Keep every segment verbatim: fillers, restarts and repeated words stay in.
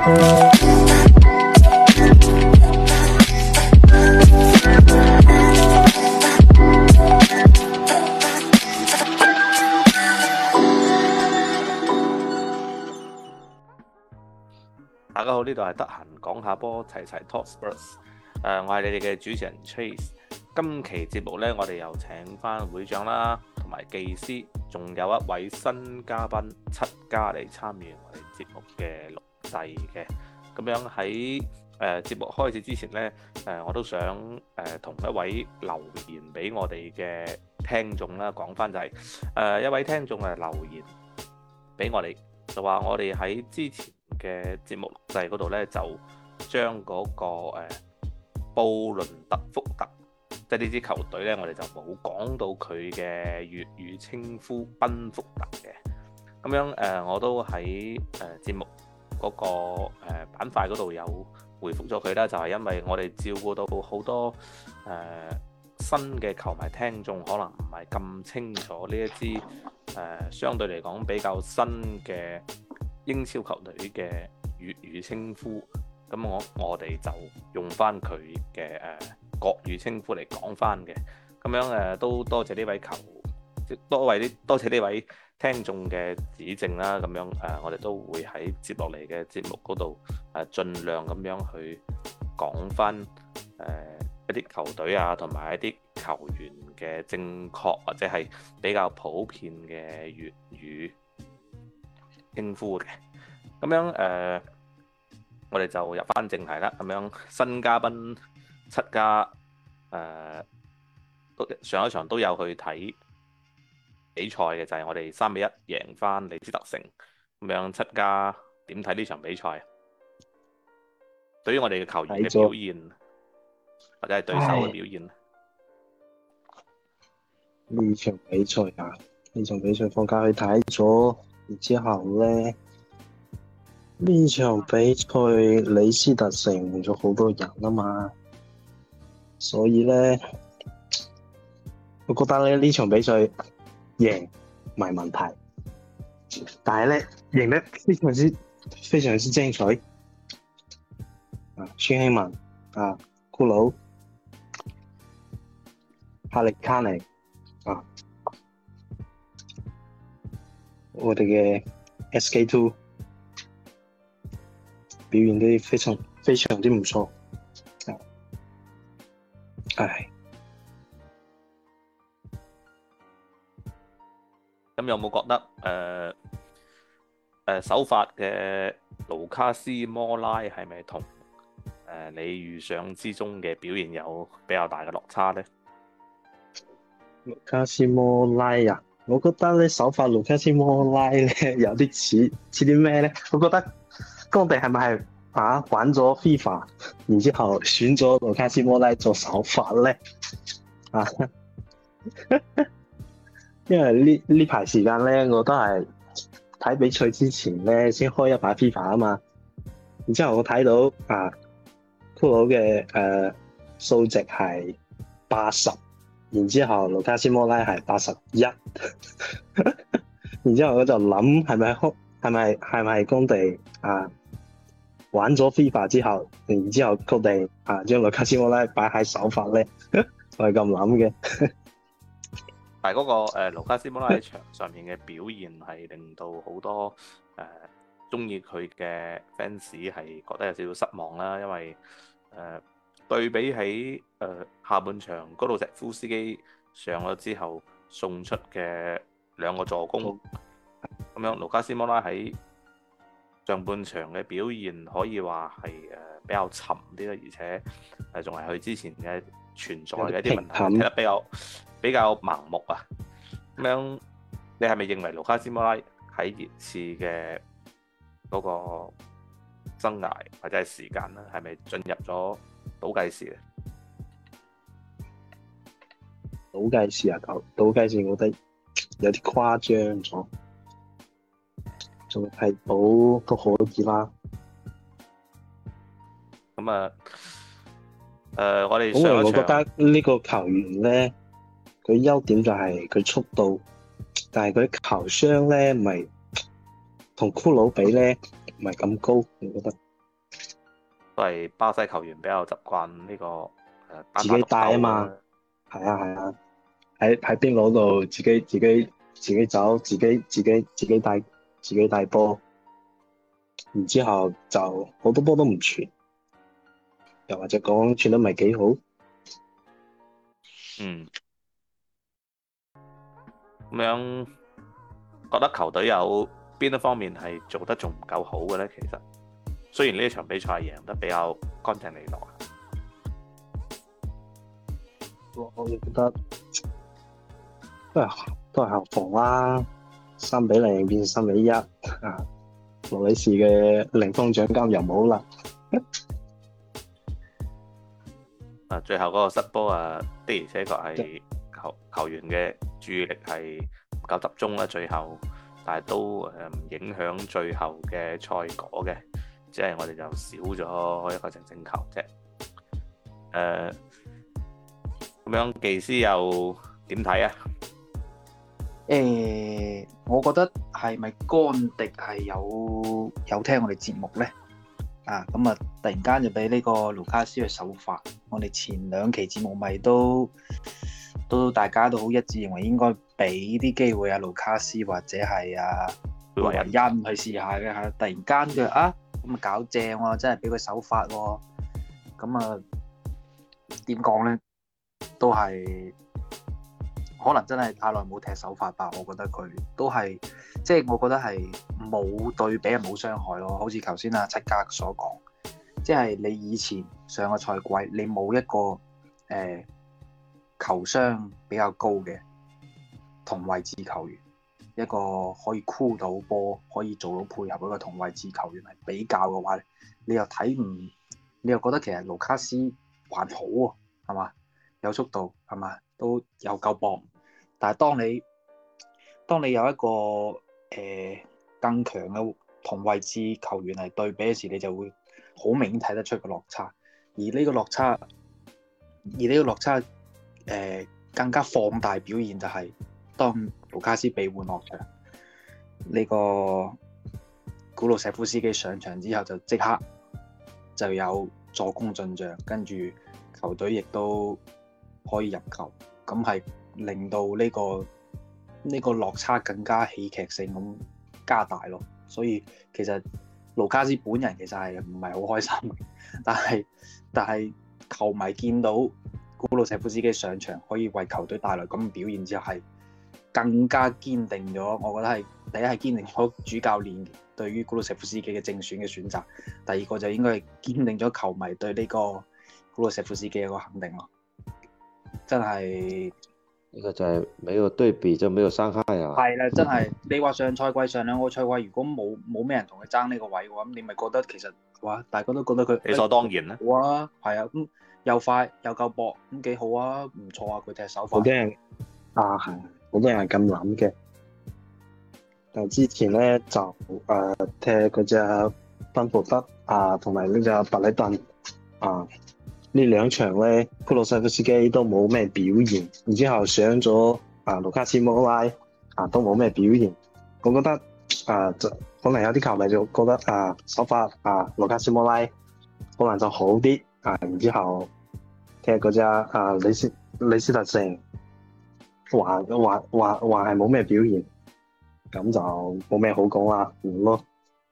大家好，呢度係得閒講下波，齊齊 Talk Spurs。誒，我係你哋嘅主持人 Chase。今期節目呢，我哋又請翻會長啦，同埋技師，仲有一位新嘉賓七家嚟參與我哋節目嘅錄製嘅。咁樣喺誒節目開始之前呢，誒我都想誒同一位留言俾我哋嘅聽眾啦，講翻就係誒一位聽眾嘅留言俾我哋，就話我哋喺之前嘅節目錄製嗰度咧，就將嗰、那個誒、呃、布倫特福特，即係呢支球隊咧，我哋就冇講到佢嘅粵語稱呼賓福特嘅。咁樣誒、呃，我都喺誒、呃、節目嗰、那個誒、呃、板塊嗰度有回覆咗佢啦，就係、是、因為我哋照顧到好多誒、呃、新嘅球迷聽眾，可能唔係咁清楚呢一支誒、呃、相對嚟講比較新嘅英超球隊嘅粵語稱呼，咁我我哋就用翻佢嘅誒國語稱呼嚟講翻嘅，咁樣誒、呃、都多謝呢位球，多位啲多謝呢位聽眾嘅指正啦，咁樣誒、呃、我哋都會喺接落嚟嘅節目嗰度誒盡量咁樣去講翻誒、呃、一啲球隊啊，同埋一啲球員嘅正確或者係比較普遍嘅粵語稱呼嘅。咁樣誒、呃，我哋就入翻正題啦。咁樣新嘉賓七家誒，都、呃、上一場都有去睇比賽嘅，就係、是、我哋三比一贏翻李斯特城。咁樣七家點睇呢場比賽？對於我哋嘅球員嘅表現，或者係對手嘅表現？ 呢場比賽啊，呢場比賽放假去睇咗，然之後咧，呢場比賽李斯特城換咗好多人啊嘛，所以咧，我覺得咧呢場比賽贏唔係問題，但係咧贏得非常之非常之精彩。啊，孫興文啊，骷髏、哈利卡尼啊，我哋嘅 S K two 表現得非常非常之唔錯。唉， 咁有冇覺得誒誒、呃呃、首發嘅盧卡斯摩拉係咪同誒你預想之中嘅表現有比較大嘅落差呢？ 盧卡斯摩拉啊，我覺得咧首發盧卡斯摩拉咧有啲似似啲咩咧？我覺得干地係咪係啊玩咗 FIFA， 然之後選咗盧卡斯摩拉做首發咧？啊，因為呢呢排時間咧，我都係睇比賽之前咧先開一把 FIFA 啊嘛，然之後我睇到啊。骷髏嘅誒數值係八十，然之後盧卡斯摩拉係八十一，然之後我就諗係咪係咪係咪干地啊玩咗 FIFA 之後，然之後決定啊將盧卡斯摩拉擺喺首發咧，我係咁諗嘅。 但係嗰個誒盧卡斯摩拉喺場上面嘅表現係令到好多誒中意佢嘅 fans 係覺得有少少失望啦，因為誒、呃、對比起誒、呃、下半場高路石夫斯基上咗之後送出嘅兩個助攻，咁、嗯、樣盧卡斯摩拉喺上半場嘅表現可以話係誒比較沉啲啦，而且誒仲係佢之前嘅存在嘅一啲問題，踢得比較比較盲目啊。咁樣你係咪認為盧卡斯摩拉喺熱刺嘅嗰個生涯或者係時間咧，係咪進入咗倒計時咧？ 倒計時啊，倒倒計時，我覺得有啲誇張咗，仲係倒都可以啦。 咁啊，誒、呃，我哋上一場，我覺得呢個球員咧，佢優點就係佢速度，但係佢球商咧，唔係同骷髏比咧，唔係咁高，我覺得。 都係巴西球員比較習慣呢個誒單自己帶啊嘛，係啊係啊，喺喺邊攞度自己自己自己走，自己自己自己帶自己帶波，然之後就好多波都唔傳，又或者講傳得唔係幾好。 嗯，咁樣覺得球隊有邊一方面係做得仲唔夠好嘅咧？其實雖然呢一場比賽贏得比較乾淨利落， 我覺得都係都係後防啦，三比零變三比一啊！羅里士嘅零封獎金又冇啦。 啊，最後嗰個失波啊，的而且確係球球員嘅注意力係唔夠集中啦，最後，但係都誒唔影響最後嘅賽果嘅，即係我哋就少咗一個淨勝球啫。誒、呃，咁樣技師又點睇啊？ 誒、欸，我覺得係咪干迪係有有聽我哋節目咧？啊，咁啊，突然間就俾呢個盧卡斯去首發。我哋前兩期節目咪都都大家都好一致認為應該俾啲機會啊盧卡斯或者係啊羅雲恩去試下嘅嚇。突然間佢啊咁啊搞正喎，真係俾佢首發喎。咁啊點講咧？都係可能真係太耐冇踢首發吧。我覺得佢都係即係我覺得係冇對比係冇傷害咯。好似頭先阿七家所講，即係你以前上個賽季你冇一個誒、呃、球商比較高嘅同位置球員，一個可以箍到波可以做到配合一個同位置球員嚟比較嘅話，你又睇唔你又覺得其實盧卡斯還好喎，係嘛？有速度係嘛？都有夠磅。但係當你當你有一個誒、呃、更強嘅同位置球員嚟對比嘅時，你就會好明顯睇得出個落差。而呢個落差，而呢個落差誒、呃、更加放大表現就係當盧卡斯被換落場，呢、這個古魯石夫斯基上場之後就即刻就有助攻進帳，跟住球隊亦都可以入球，咁係令到呢、這個呢、這個落差更加戲劇性咁加大咯。所以其實盧卡斯本人其實係唔係好開心，但係但係球迷見到古魯石夫斯基上場可以為球隊帶來咁嘅表現之後，係更加堅定咗。我覺得係第一係堅定咗主教練對於古魯石夫斯基嘅正選嘅選擇，第二個就應該係堅定咗球迷對呢個古魯石夫斯基嘅一個肯定咯。真係呢個就係沒有對比就沒有傷害啊！ 係啦，真係你話上賽季上兩個賽季如果冇冇咩人同佢爭呢個位嘅話，咁你咪覺得其實哇，大家都覺得佢理所當然啦。 哇，係啊，咁又快又夠搏，咁幾好啊，唔錯啊，佢踢手法。 好多人啊，係好多人係咁諗嘅。但之前咧就誒、呃、踢嗰隻賓福德啊，同埋呢隻白禮頓啊。呢兩場咧，古魯塞夫斯基都冇咩表現，然之後上咗啊盧卡斯摩拉啊都冇咩表現。我覺得啊，就可能有啲球迷就覺得啊首發啊盧卡斯摩拉可能就好啲啊，然之後踢嗰隻啊李斯李斯特城還還還還係冇咩表現，咁就冇咩好講啦，唔咯。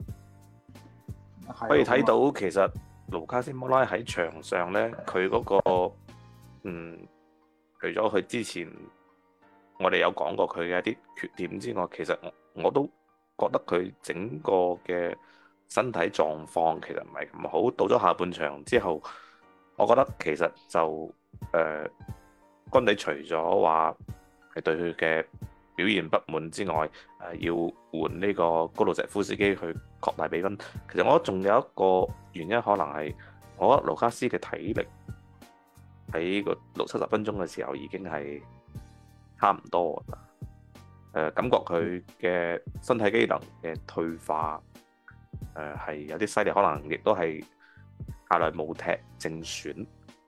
可以睇到其實盧卡斯摩拉喺場上咧，佢嗰、那個嗯，除咗佢之前我哋有講過佢嘅一啲缺點之外，其實我我都覺得佢整個嘅身體狀況其實唔係咁好。到咗下半場之後，我覺得其實就誒，干地除咗話係對佢嘅表現不滿之外，誒、呃、要換呢個高魯石夫斯基去擴大比分。其實我覺得仲有一個原因，可能係我覺得盧卡斯嘅體力喺個六七十分鐘嘅時候已經係差唔多啦。誒、呃，感覺佢嘅身體機能嘅退化，誒、呃、係有啲犀利，可能亦都係太耐冇踢正選。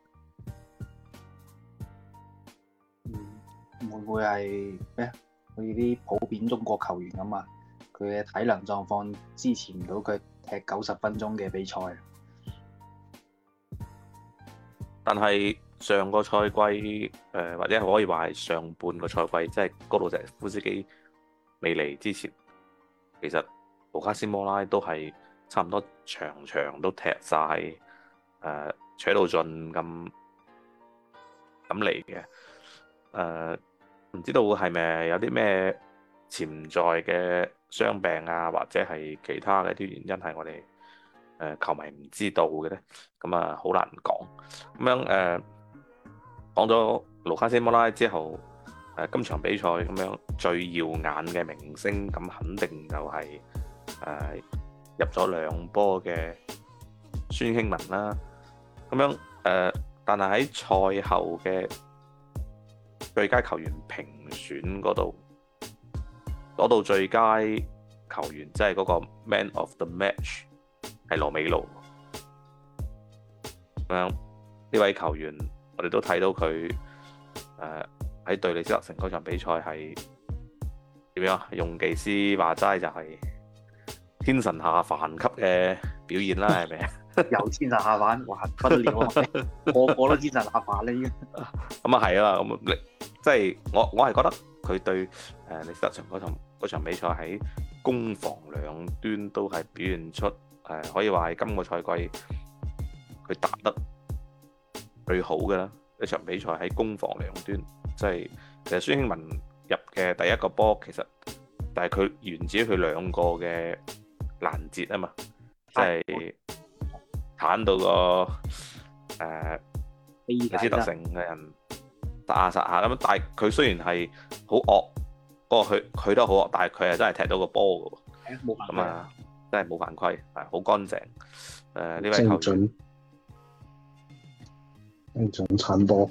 嗯，會唔會係咩？好似啲普遍中國球員咁啊，佢嘅體能狀況支持唔到佢踢九十分鐘嘅比賽。 但係上個賽季誒、呃，或者可以話係上半個賽季，即係高魯石夫斯基未嚟之前，其實盧卡斯摩拉都係差唔多場場都踢晒，誒、呃、扯到盡咁咁嚟嘅。誒、呃、唔知道係咪有啲咩潛在嘅傷病啊，或者係其他嘅啲原因係我哋誒、呃、球迷唔知道嘅咧？咁啊好難講。咁樣誒講咗盧卡斯摩拉之後，誒、呃、今場比賽咁樣最耀眼嘅明星，咁肯定就係、是、誒、呃、入咗兩波嘅孫興文啦。咁樣誒、呃，但係喺賽後嘅最佳球員評選嗰度攞到最佳球員，即係嗰個 Man of the Match 係羅美路。咁樣呢位球員，我哋都睇到佢誒喺對李斯特城嗰場比賽係點樣？用技師話齋就係天神下凡級嘅表現啦，係咪啊？ 有天神下凡，哇不得了啊！個個都天神下凡啦，已經。 咁啊係啊，咁你即係我我係覺得佢對誒李斯特城嗰場嗰場比賽喺攻防兩端都係表現出誒、呃，可以話係今個賽季佢打得最好嘅啦。一場比賽喺攻防兩端，即係其實孫興文入嘅第一個波，其實但係佢源自於佢兩個嘅攔截啊嘛，即係鏟到個誒李斯特城嘅人殺下殺下咁，但係佢雖然係好惡，不過佢佢都好惡，但係佢係真係踢到個波嘅喎，咁啊真係冇犯規，係好乾淨。誒、呃、呢位球員精準鏟波，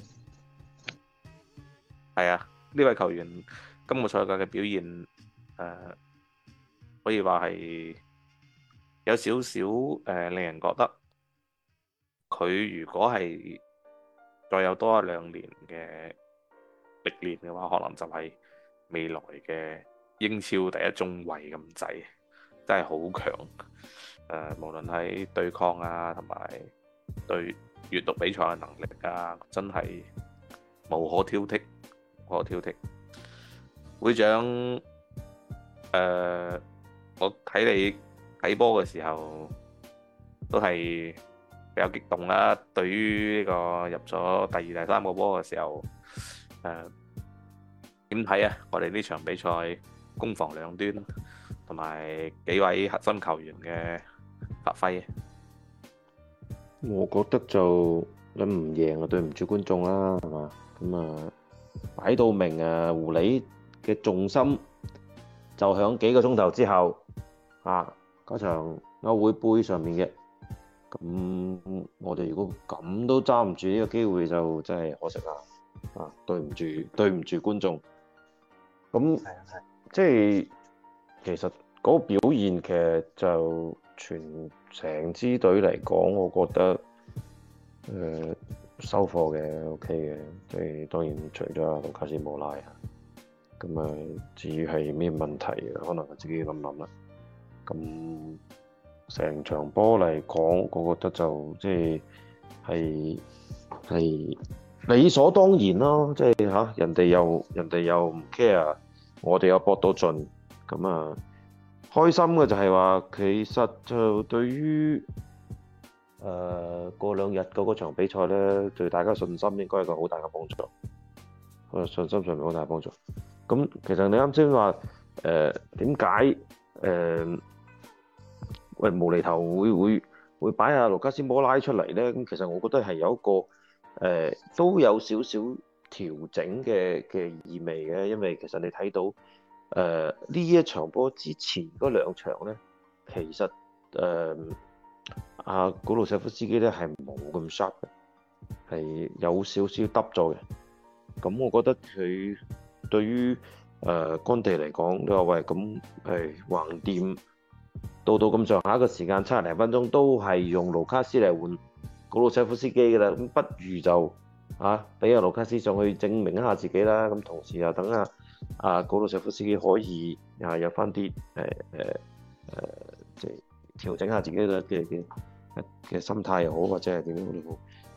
係啊，呢位球員今個賽季嘅表現誒、呃，可以話係有少少誒令人覺得佢如果係再有多一兩年嘅歷練嘅話，可能就係未來嘅英超第一中衛咁滯，真係好強。誒、呃，無論喺對抗啊，同埋對閱讀比賽嘅能力啊，真係無可挑剔，無可挑剔。會長，誒、呃，我睇你睇波嘅時候都係比較激動啦。對於呢個入咗第二、第三個波嘅時候，誒點睇啊？我哋呢場比賽攻防兩端，同埋幾位核心球員嘅發揮。 我覺得就你唔贏啊，對唔住觀眾啦，係嘛？咁啊，擺到明啊，狐狸嘅重心就響幾個鐘頭之後啊，嗰場歐會杯上面嘅。咁我哋如果咁都揸唔住呢個機會，就真係可惜啦。啊，對唔住，對唔住觀眾。咁即係其實嗰個表現其實就全成支隊嚟講，我覺得誒、呃、收貨嘅 OK 嘅，即係當然除咗阿盧卡斯摩拉啊，咁啊至於係咩問題，可能自己諗諗啦。咁成場波嚟講，我覺得就即係係係理所當然咯，即係嚇人哋又人哋又唔 care，我哋又搏到盡，咁啊〜開心嘅就係話，其實就對於誒過兩日嗰個場比賽咧，對大家信心應該係一個好大嘅幫助。誒信心上面好大嘅幫助。咁其實你啱先話誒點解誒喂無厘頭會會會擺下盧卡斯摩拉出嚟咧？咁其實我覺得係有一個誒、呃、都有少少調整嘅嘅意味嘅，因為其實你睇到。誒呢、呃、一場波之前嗰兩場咧，其實誒阿古魯舍夫斯基咧係冇咁 sharp 嘅，係有少少耷咗嘅。咁我覺得佢對於誒干地嚟講都話喂，咁係橫掂到到咁上下嘅時間，七十零分鐘都係用盧卡斯嚟換古魯舍夫斯基嘅啦。咁不如就啊俾阿盧卡斯上去證明一下自己啦。咁同時又等下。啊，古魯舍夫斯基可以啊有翻啲誒誒誒，即係調整下自己嘅嘅嘅嘅心態又好，或者係點樣都好。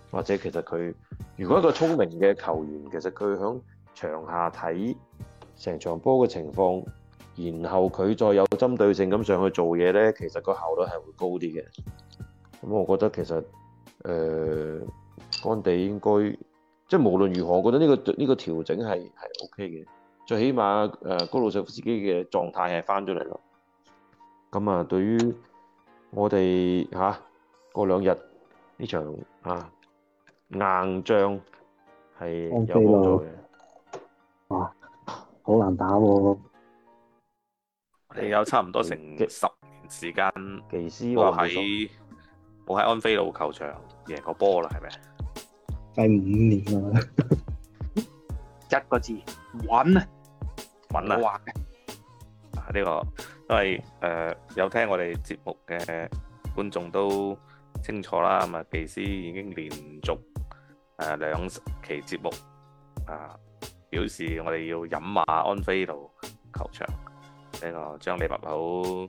或者其實佢如果一個聰明嘅球員，其實佢響場下睇成場波嘅情況，然後佢再有針對性咁上去做嘢咧，其實個效率係會高啲嘅。咁我覺得其實誒、呃、干地應該即係無論如何，我覺得呢、呢個呢、呢個調整係係 O K 嘅。最起碼誒、呃、高魯舍夫斯基嘅狀態係翻咗嚟咯。咁啊，對於我哋嚇過兩日呢場啊硬仗係有幫助嘅。 哇，好難打喎！ 我哋有差唔多成十年時間技師冇話喺冇喺安菲路球場贏過波啦，係咪？ 第五年啦， 一個字穩啊！ 穩啊！ 我話啊呢、這個因為誒、呃、有聽我哋節目嘅觀眾都清楚啦，咁啊技師已經連續誒兩、呃、期節目啊表示我哋要飲馬安菲路球場呢、這個將利物浦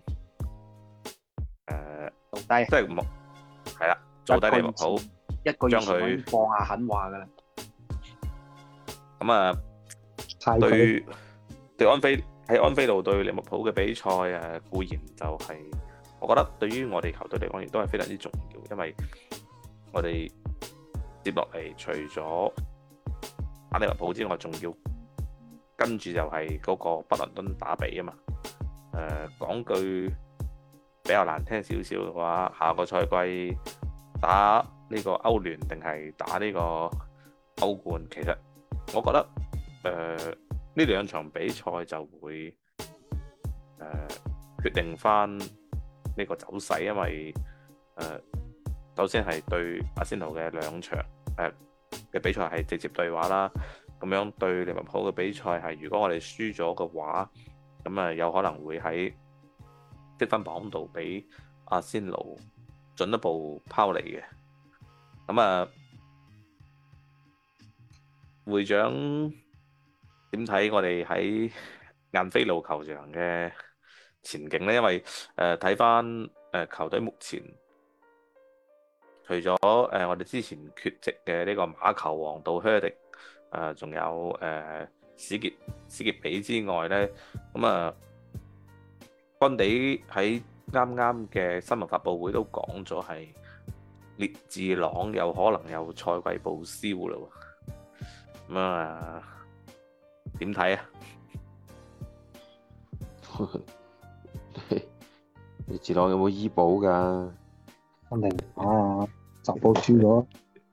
誒做低， 即係冇係啦，做低利物浦， 一個月將佢前放下狠話噶啦。 咁啊對對安菲喺安菲路對利物浦嘅比賽誒固然就係、是，我覺得對於我哋球隊嚟講亦都係非常之重要，因為我哋接落嚟除咗打利物浦之外，仲要跟住就係嗰個北倫敦打比啊嘛。誒、呃、講句比較難聽少少嘅話，下個賽季打呢個歐聯定係打呢個歐冠，其實我覺得誒呢兩場比賽就會誒、呃、決定翻呢個走勢，因為誒、呃、首先係對阿仙奴嘅兩場誒嘅、呃、比賽係直接對話啦，咁樣對利物浦嘅比賽係如果我哋輸咗嘅話，咁啊有可能會喺積分榜度俾阿仙奴進一步拋離嘅。咁啊會長點睇我哋喺晏菲路球場嘅前景呢？因為誒睇翻誒球隊目前除咗誒、呃、我哋之前缺席嘅呢個馬球王道靴迪誒，仲、呃、有誒、呃、史傑史傑比之外咧，咁啊干地喺啱啱嘅新聞發佈會都講咗係列治朗有可能有賽季報銷啦喎，咁啊點睇啊？ 列治朗有冇醫保㗎？ 肯定啊，就報輸咗。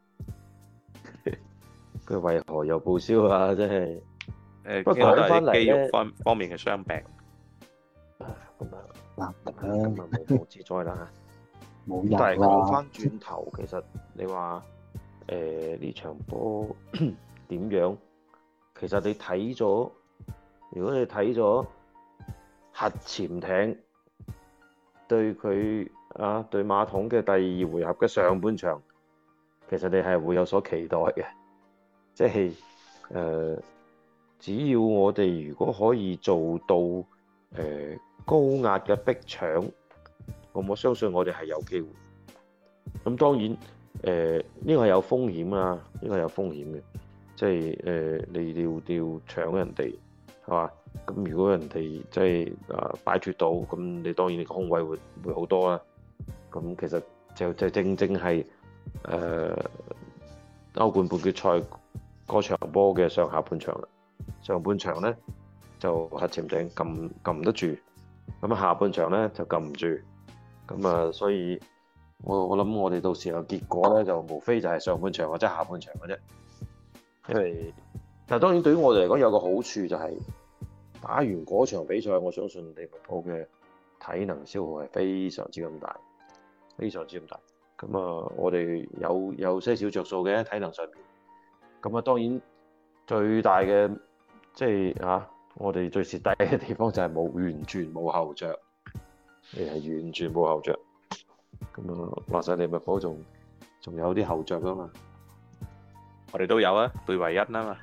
佢為何又報銷啊？真係誒， 不過講翻嚟肌肉方方面嘅傷病。 咁啊， 難得咁啊無妄之災啦。 冇人但係講啦。 翻轉頭，其實你話誒呢場波點樣？其實你睇咗，如果你睇咗核潛艇對佢啊對馬桶嘅第二回合嘅上半場，其實你係會有所期待嘅，即係誒、呃，只要我哋如果可以做到誒、呃、高壓嘅逼搶，我我相信我哋係有機會。咁當然誒呢個係有風險啊，呢個係有風險嘅，即係誒、呃、你要要搶人哋係嘛？咁如果人哋即係啊擺脫到，咁你當然你個空位會會好多啦。咁其實就就正正係誒、呃、歐冠半決賽嗰場波嘅上下半場啦。上半場咧就核潛艇撳撳得住，咁下半場咧就撳唔住。咁啊，所以我我諗我哋到時候結果咧就無非就係上半場或者下半場嘅啫。因為但係當然對於我哋嚟講有個好處就係、是。打完嗰場比賽，我相信利物浦嘅體能消耗係非常之咁大，非常之咁大。咁啊，我哋有有些少着數嘅體能上面。咁啊，當然最大嘅即係啊，我哋最蝕底嘅地方就係冇完全冇後着，你係完全冇後着。咁啊，話晒利物浦仲仲有啲後着噶嘛， 我哋都有啊，貝維恩啊嘛。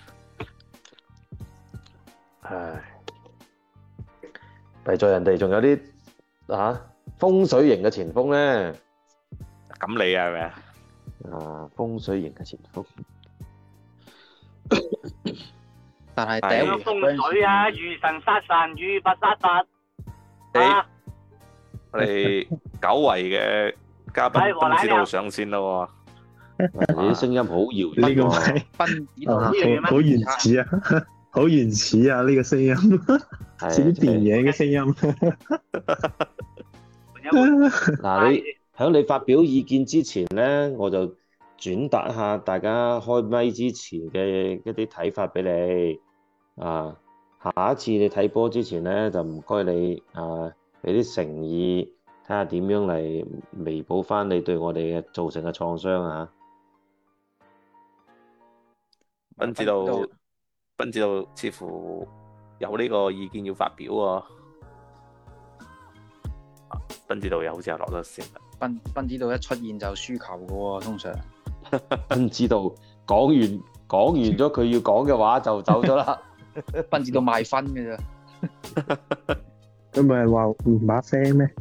唉，弊在人哋仲有啲啊風水型嘅前鋒咧， 咁你係咪啊？ 啊，風水型嘅前鋒。 但係第一係回風水啊，遇神殺神，遇佛殺佛。啊， 我哋久違嘅嘉賓斌指導上線咯你啲聲音好遙遠呢個喎。 咪斌指導啊， 呢樣嘢咩好好原始啊，好原始啊！呢個聲音似啲電影嘅聲音。 嗱，你喺你發表意見之前咧，我就轉達下大家開咪之前嘅一啲睇法俾你。啊，下一次你睇波之前咧，就唔該你啊，俾啲誠意，睇下點樣嚟彌補翻你對我哋嘅造成嘅創傷啊！ 斌指導，斌指導似乎有呢個意見要發表喎。斌指導又好似又落咗線啦。 斌斌指導一出現就輸球嘅喎，通常。 斌指導講完講完咗佢要講嘅話就走咗啦。 斌指導賣分嘅咋。 佢咪係話唔把聲咩？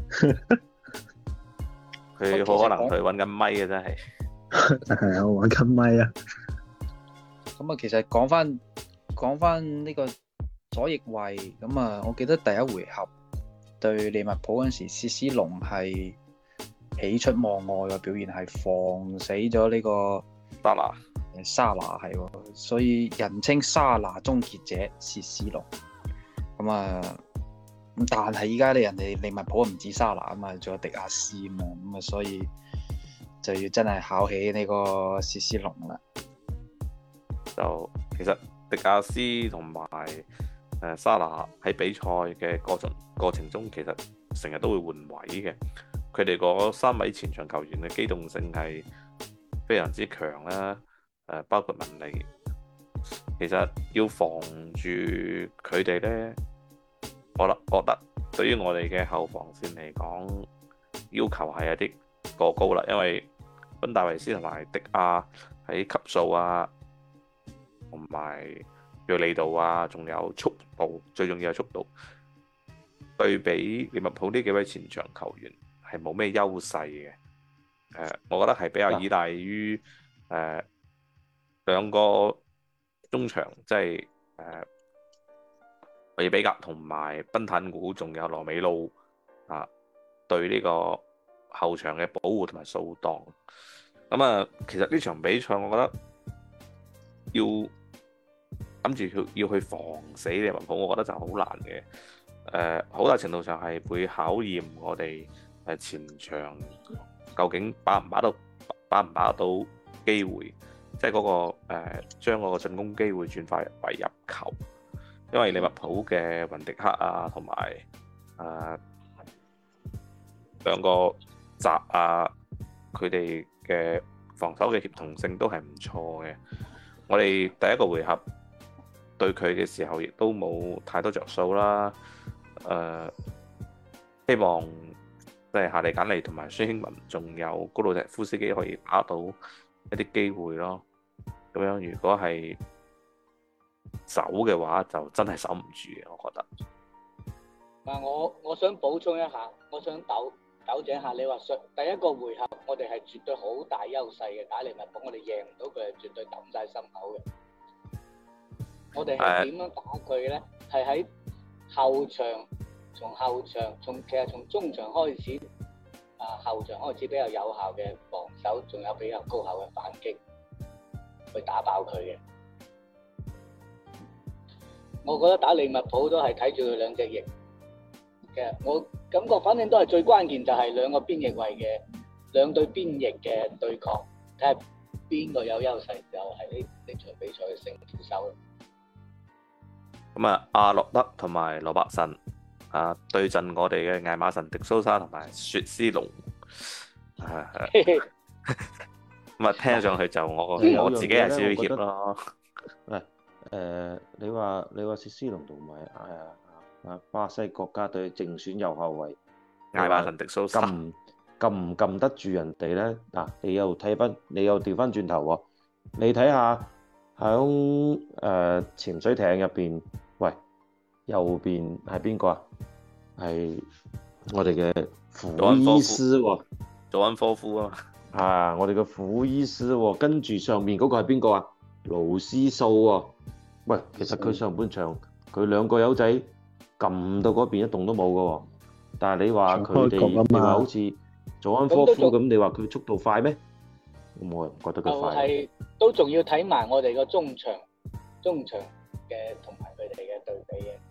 佢好可能佢揾緊咪嘅真係。 係啊，我揾緊咪啊！ 咁啊，其實講翻講翻呢個左翼衛咁啊，我記得第一回合對利物浦嗰陣時，薛斯隆係喜出望外嘅表現，係防死咗呢個沙拿。 沙拿係喎，所以人稱沙拿終結者薛斯隆。咁啊，咁但係依家咧人哋利物浦唔止沙拿啊嘛，仲有迪亞斯啊嘛，咁啊，所以就要真係考起呢個薛斯隆啦。 就其實迪亞斯同埋誒沙拿喺比賽嘅過程過程中，其實成日都會換位嘅。佢哋嗰三位前場球員嘅機動性係非常之強啦。誒，包括文尼，其實要防住佢哋咧，我覺覺得對於我哋嘅後防線嚟講，要求係有啲過高啦。因為賓戴維斯同埋迪亞喺級數啊，同埋銳利度啊，仲有速度，最重要係速度，對比利物浦呢幾位前場球員係冇咩優勢嘅。誒，我覺得係比較依賴於誒、呃、兩個中場，即係誒韋比格同埋賓坦古，仲有羅美路啊，對呢個後場嘅保護同埋掃檔。咁啊，其實呢場比賽我覺得要諗住要要去防死利物浦，我覺得就好難嘅。誒、呃，好大程度上係會考驗我哋誒前場究竟把唔把到把唔把到機會，即係嗰個誒將嗰個進攻機會轉化為入球。因為利物浦嘅雲迪克啊，同埋誒兩個閘啊，佢哋嘅防守嘅協同性都係唔錯嘅。我哋第一個回合對佢嘅時候，亦都冇太多着數啦。誒、呃，希望即係夏利簡尼同埋孫興文，仲有高魯石夫斯基可以打到一啲機會咯。咁樣如果係守嘅話，就真係守唔住嘅，我覺得。 嗱，我我想補充一下，我想糾糾正下，你話上第一個回合我哋係絕對好大優勢嘅，打利物浦我哋贏唔到佢係絕對抌晒心口嘅。我哋係點樣打佢咧？係喺後場，從後場，從其實從中場開始，啊後場開始比較有效嘅防守，仲有比較高效嘅反擊，去打爆佢嘅。我覺得打利物浦都係睇住佢兩隻翼嘅，我感覺反正都係最關鍵就係兩個邊翼位嘅兩隊邊翼嘅對抗，睇下邊個有優勢就係呢呢場比賽嘅勝負手。 咁啊，阿諾德同埋羅伯遜啊對陣我哋嘅艾馬臣迪蘇沙同埋薛斯隆，係咁啊，聽上去就我我自己係少少怯咯。 誒誒，你話你話薛斯隆同埋誒啊巴西國家隊正選右後衛艾馬臣迪蘇沙撳撳唔撳得住人哋咧？嗱，你又睇翻，你又調翻轉頭喎，你睇下。喺誒潛水艇入邊，喂，右邊係邊個啊？係我哋嘅庫伊斯喎， 佐恩科夫啊嘛。 啊，我哋嘅苦醫師喎，跟住上面嗰個係邊個啊？盧斯素喎。喂，其實佢上半場佢兩個友仔撳到嗰邊一動都冇嘅喎，但係你話佢哋，你話好似佐安科夫咁，你話佢速度快咩？我又唔覺得佢快。 係都仲要睇埋我哋個中場，中場嘅同埋佢哋嘅對比嘅，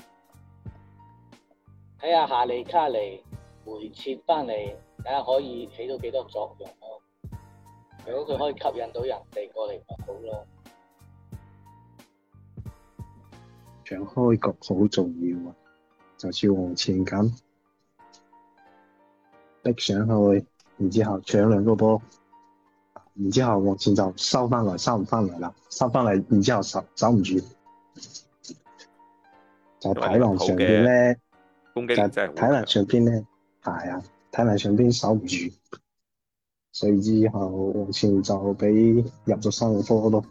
睇下夏利卡尼回撤翻嚟，睇下可以起到幾多作用咯。如果佢可以吸引到人哋過嚟，咪好咯。 場開局好重要啊，就似往前咁逼上去，然之後搶兩個波，然之後往前就收翻嚟，收唔翻嚟啦，收翻嚟，然之後守守唔住，就體能上邊咧， 攻擊就體能上邊咧，係啊，體能上邊守唔住，所以之後往前就俾入咗三個波咯。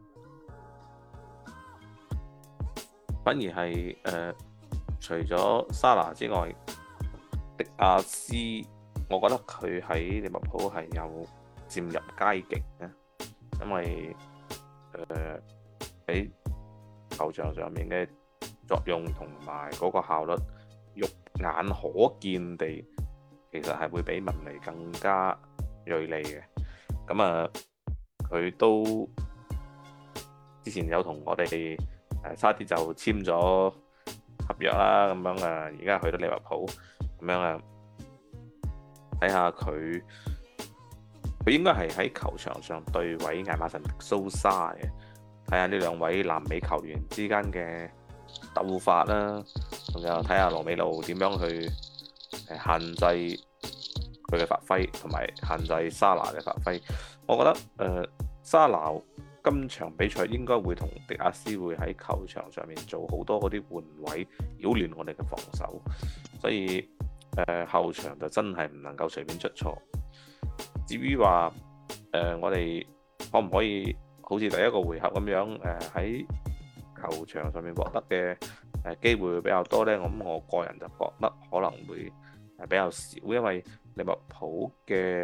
反而係誒、呃，除咗沙拿之外，迪亞斯，我覺得佢喺利物浦係有漸入佳境嘅，因為誒喺、呃、球場上面嘅作用同埋嗰個效率，肉眼可見地，其實係會比文尼更加鋭利嘅。咁啊，佢、呃、都之前有同我哋。誒差啲就簽咗合約啦，咁樣啊，而家去到利物浦，咁樣啊，睇下佢，佢應該係喺球場上對位艾馬臣迪蘇沙嘅，睇下呢兩位南美球員之間嘅鬥法啦，仲有睇下羅美路點樣去誒限制佢嘅發揮，同埋限制沙拿嘅發揮。我覺得誒、呃、沙拿今場比賽應該會同迪亞斯會喺球場上面做好多嗰啲換位，擾亂我哋嘅防守，所以誒、呃、後場就真係唔能夠隨便出錯。至於話誒我哋可唔可以好似第一個回合咁樣誒喺、呃、球場上面獲得嘅誒機會會比較多呢？咁我個人就覺得可能會係比較少，因為利物浦嘅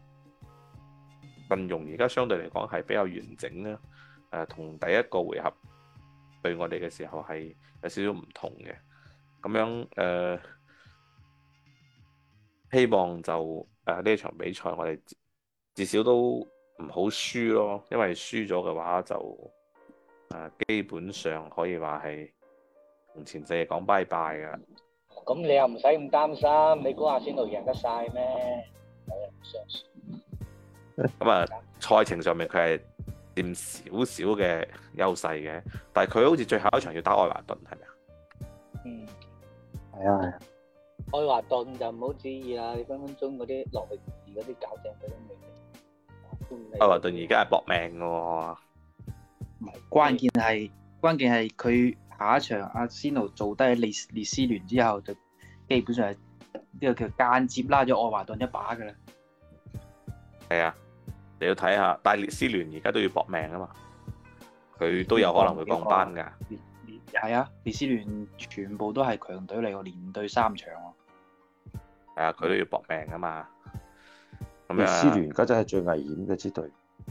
陣容而家相對嚟講係比較完整啦，誒、呃、同第一個回合對我哋嘅時候係有少少唔同嘅，咁樣誒、呃、希望就誒呢、呃、場比賽我哋至少都唔好輸咯，因為輸咗嘅話就誒、呃、基本上可以話係同前世講拜拜㗎。 咁你又唔使咁擔心，你估阿仙奴贏得晒咩？有人唔相信。 咁啊，賽程上面佢係佔少少嘅優勢嘅，但係佢好似最後一場要打愛華頓，係咪啊？ 嗯， 係啊係啊。 愛華頓就唔好旨意啦，你分分鐘嗰啲落力嗰啲搞正佢都未。 愛華頓而家係搏命嘅喎。 唔係，關鍵係關鍵係佢下一場阿仙奴做低列列斯聯之後，就基本上係呢個叫間接拉咗愛華頓一把㗎啦。 係啊。你要睇下，但係列斯聯而家都要搏命啊嘛，佢都有可能會降班㗎。 係啊，列斯聯全部都係強隊嚟喎，連對三場喎。 係啊，佢都要搏命啊嘛。咁列斯聯而家真係最危險嘅支隊。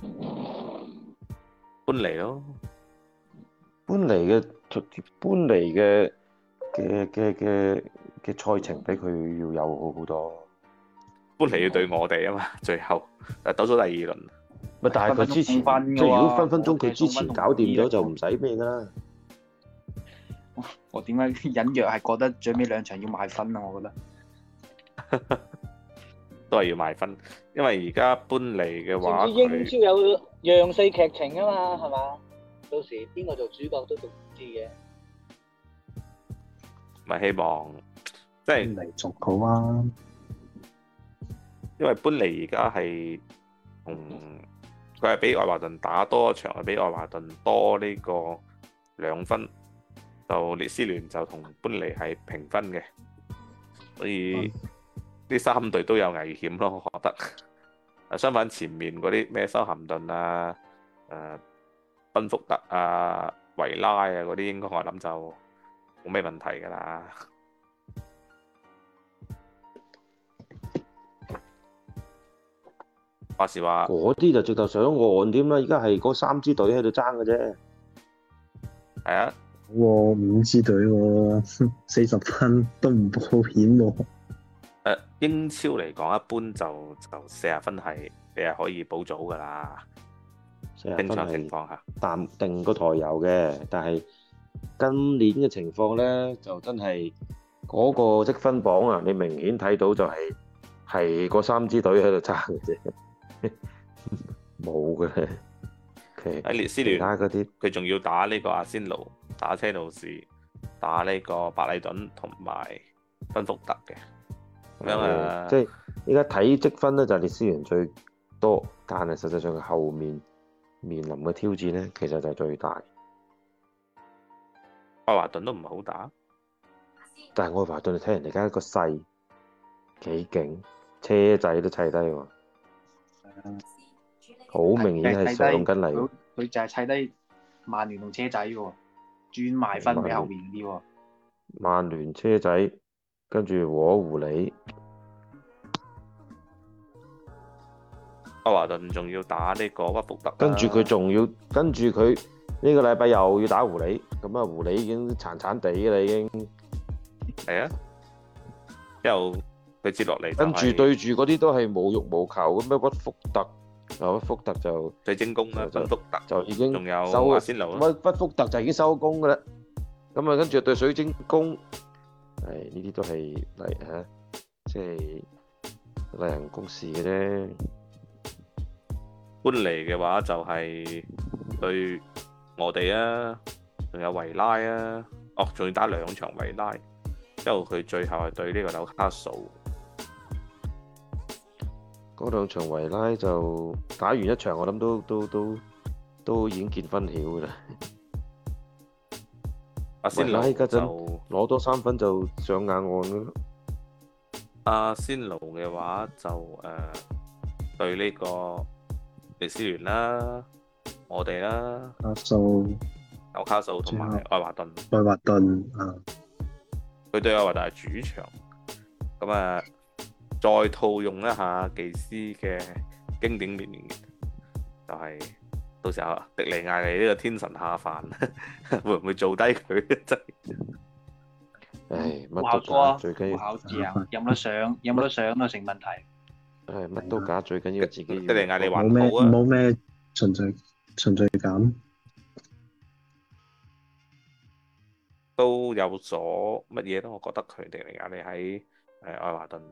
搬嚟咯， 搬嚟嘅搬嚟嘅嘅嘅嘅嘅賽程比佢要有好好多。 搬嚟要對我哋啊嘛，最後誒鬥咗第二輪。 咪但係佢之前，即係如果分分鐘佢之前搞掂咗就唔使咩㗎啦。 我點解隱約係覺得最尾兩場要賣分啊？我覺得都係要賣分，因為而家搬嚟嘅話， 英超有讓四劇情啊嘛，係嘛？到時邊個做主角都仲唔知嘅。 咪希望即係嚟仲好啊！ 因為搬嚟而家係同佢係比愛華頓打多一場，係比愛華頓多呢個兩分，就列斯聯就同搬嚟係平分嘅，所以呢、嗯、三隊都有危險咯，我覺得。相反前面嗰啲咩修咸頓啊、誒賓福特啊、維拉啊嗰啲，應該我諗就冇咩問題㗎啦。 話時話嗰啲就直頭上岸添啦，而家係嗰三支隊喺度爭嘅啫。 係啊， 喎五支隊喎，四十分都唔保險喎。 誒英超嚟講，一般就就四十分係你係可以保組㗎啦。 四十正常分係情況下， 淡定個台有嘅，但係今年嘅情況咧，就真係嗰個積分榜啊，你明顯睇到就係係嗰三支隊喺度爭嘅啫，冇嘅。 喺列斯其聯他嗰啲佢仲要打呢個阿仙奴、打車路士、打呢個白禮頓同埋賓福特嘅咁樣啊。 即係依家睇積分咧，就係列斯聯最多，但係實際上佢後面面臨嘅挑戰咧，其實就係最大。 愛華頓都唔係好打， 但係愛華頓你睇人哋而家個勢幾勁，車仔都砌低喎，好明顯係上緊嚟。 佢佢就係砌低曼聯同車仔喎，專賣分俾後面啲喎。 曼聯車仔跟住和狐狸， 愛華頓仲要打呢個屈福特， 跟住佢仲要跟住佢呢個禮拜又要打狐狸，咁啊狐狸已經殘殘地嘅啦已經。 係啊，之後佢接落嚟就係跟住對住嗰啲都係無欲無求咁樣，屈福特啊屈福特就水晶宮啦， 就賓福特就已經仲有收阿仙奴啦。 屈屈福特就已經收工噶啦。咁啊跟住對水晶宮，係呢啲都係例嚇，即係例行公事嘅啫。 搬嚟嘅話就係對我哋啊，仲有維拉啊，哦，仲要打兩場維拉，之後佢最後係對呢個紐卡素。 嗰兩場維拉就打完一場，我諗都都都都已經見分曉噶啦。 阿仙奴維拉依家陣就攞多三分就上硬岸咯。 阿仙奴嘅話就誒、呃、對呢個列斯聯啦，我哋啦， 卡素、 紐卡素同埋愛華頓。 愛華頓啊， 佢對愛華頓係主場，咁啊再套用一下技師嘅經典名言，就係、是、到時候迪尼亞利呢個天神下凡，會唔會做低佢？真係， 唉，乜考過啊， 都假，最緊要考字啊，有冇得上？有冇得上都成問題。 唉乜都假，最緊要自己迪尼亞利冇咩還好啊， 冇咩循序循序感。 都有所乜嘢咯？我覺得佢迪尼亞利喺誒愛華頓。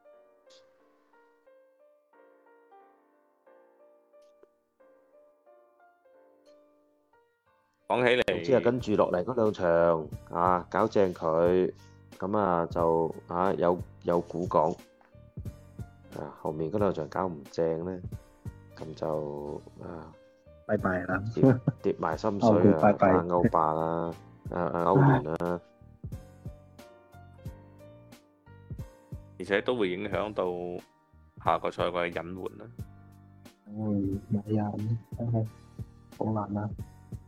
講起嚟， 總之係跟住落嚟嗰兩場啊，搞正佢，咁啊就啊有有股講，啊後面嗰兩場搞唔正咧，咁就啊拜拜啦， 跌跌埋心水啊， 拜拜打歐霸啦，啊啊歐聯啦， 而且都會影響到下個賽季嘅隱瞞啦。 嗯，冇啊，真係好難啊。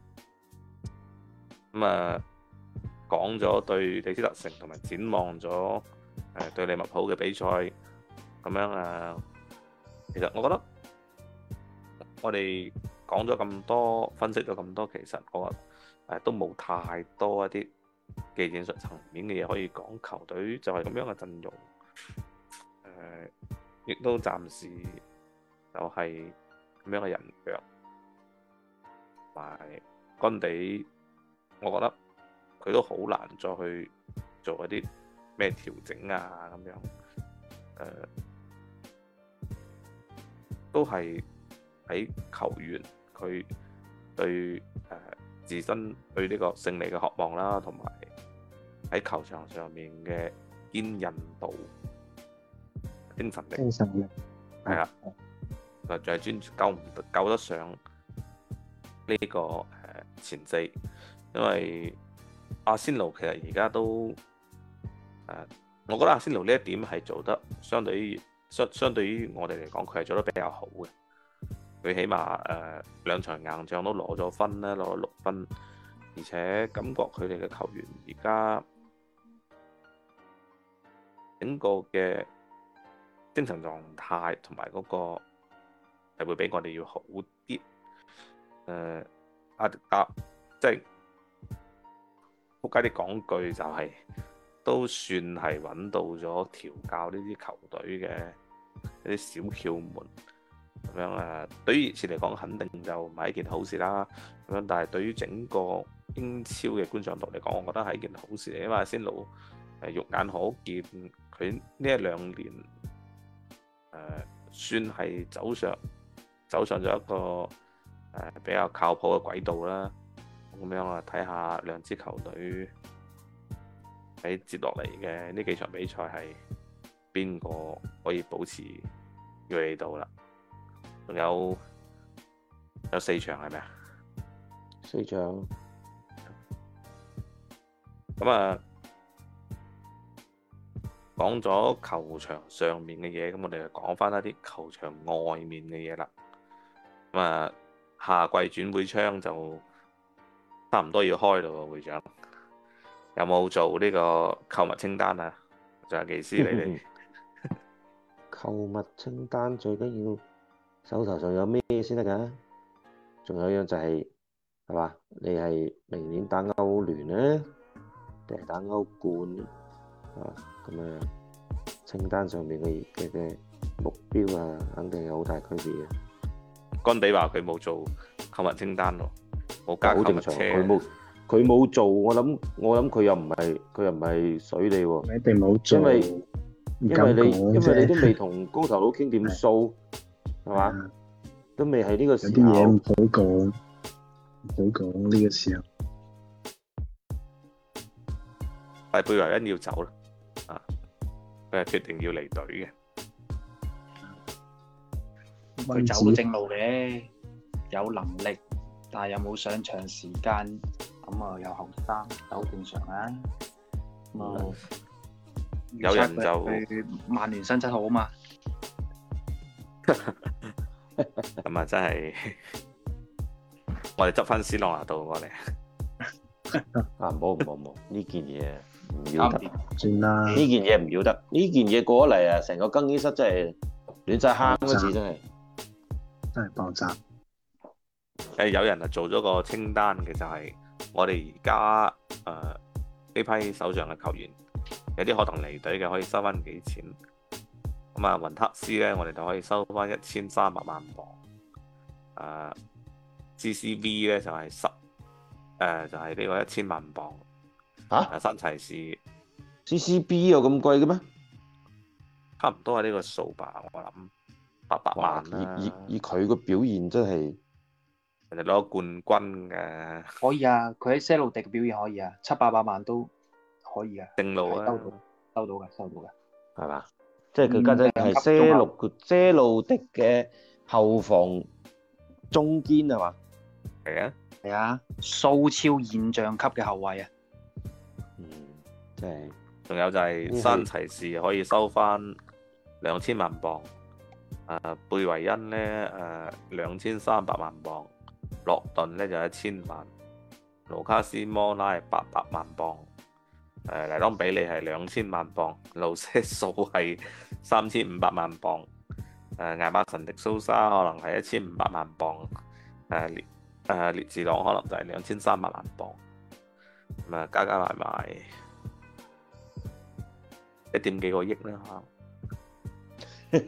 咁啊，講咗對李斯特城同埋展望咗誒對利物浦嘅比賽，咁樣啊，其實我覺得我哋講咗咁多，分析咗咁多，其實我誒都冇太多一啲技戰術層面嘅嘢可以講。球隊就係咁樣嘅陣容，誒亦都暫時就係咁樣嘅人腳，同埋干地。我覺得佢都好難再去做一啲咩調整啊咁樣，誒、呃、都係喺球員佢對誒、呃、自身對呢個勝利嘅渴望啦，同埋喺球場上面嘅堅韌度、精神力、 精神力係啊，就係專夠唔夠得上呢、這個誒、呃、前四。因為阿仙奴其實而家都誒、呃，我覺得阿仙奴呢一點係做得相對於相相對於我哋嚟講，佢係做得比較好嘅。佢起碼誒、呃、兩場硬仗都攞咗分啦，攞咗六分，而且感覺佢哋嘅球員而家整個嘅精神狀態同埋嗰個係會比我哋要好啲。誒、呃，阿迪達即係仆街啲講句就係、是，都算係揾到咗調教呢啲球隊嘅一啲小竅門咁樣誒。對於熱刺嚟講，肯定就唔係一件好事啦。咁樣，但係對於整個英超嘅觀賞度嚟講，我覺得係一件好事嚟，因為阿仙奴誒肉眼可見，佢呢一兩年誒、呃、算係走上走上咗一個誒、呃、比較靠譜嘅軌道啦。咁樣啊，睇下兩支球隊喺接落嚟嘅呢幾場比賽係邊個可以保持銳利度啦？仲有有四場係咪啊？ 四場。 咁啊，講咗球場上面嘅嘢，咁我哋就講翻一啲球場外面嘅嘢啦。咁啊，夏季轉會窗就差唔多要開啦喎，會長有冇做呢個購物清單啊？仲有技師你哋購物清單最緊要手頭上有咩先得㗎？仲有一樣就係係嘛？你係明年打歐聯咧，定係打歐冠啊？咁啊，清單上面嘅嘅嘅目標啊，肯定有好大區別嘅。 干地話佢冇做購物清單喎，冇加購物車。 佢冇佢冇做，我諗我諗佢又唔係佢又唔係水你喎。 一定冇做， 因為因因為你因為你都未同光頭佬傾掂數，係嘛？都未係呢個時候。有啲嘢唔好講，唔好講呢個時候。 但係貝維恩要走啦，啊，佢係決定要離隊嘅。 佢走都正路嘅，有能力，但係有冇上場時間，咁啊又後生，好正常啊。咁啊， 有人就佢曼聯薪質好啊嘛。 咁啊，真係我哋執翻斯朗拿度過嚟啊！唔好唔好唔好，呢件嘢唔要得， 算啦。 呢件嘢唔要得，呢件嘢過咗嚟啊，成個更衣室真係亂晒坑嗰次，真係真係爆炸。 誒，有人啊做咗個清單嘅，就係我哋而家誒呢批手上嘅球員，有啲可能離隊嘅，可以收翻幾錢。咁啊，雲克斯咧，我哋就可以收翻一千三百萬磅。誒、呃、，G C V 咧就係十誒，就係、是、呢個一千萬磅。 嚇、 啊？新齊士 C C B 有咁貴嘅咩？ 差唔多係呢個數吧，我諗八百萬啦。 以以以佢個表現真係， 人哋攞冠軍嘅。 可以啊，佢喺些路迪嘅表現可以啊，七八百萬都可以啊。 正路啊， 收到，收到嘅，收到嘅， 係嘛？即係佢家陣係些路些路迪嘅後防中堅係嘛？ 係啊， 係啊，蘇超現象級嘅後衛啊。 嗯，即係。 仲有就係新齊士可以收翻兩千萬磅，誒貝維恩咧誒兩千三百萬磅，洛頓咧就一千萬，盧卡斯摩拉係八百萬磅，誒黎當比利係兩千萬磅，盧瑟數係三千五百萬磅，誒艾馬臣迪蘇沙可能係一千五百萬磅，誒列誒列治朗可能就係兩千三百萬磅，咁啊加加埋埋一點幾個億啦嚇，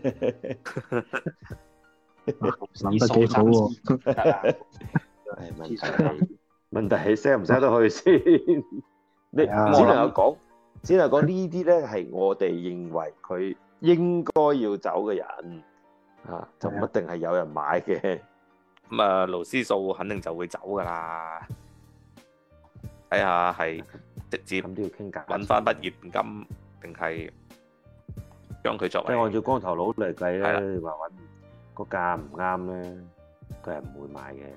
諗得幾好喎！ 係問題係問題係 sell 唔 sell 得去先？你只能夠講，只能講呢啲咧係我哋認為佢應該要走嘅人啊，就唔一定係有人買嘅。 咁啊，勞斯數肯定就會走噶啦。睇下係直接咁都要傾價， 揾翻筆現金，定係將佢作為？ 即係按照光頭佬嚟計咧，你話揾個價唔啱咧，佢係唔會買嘅。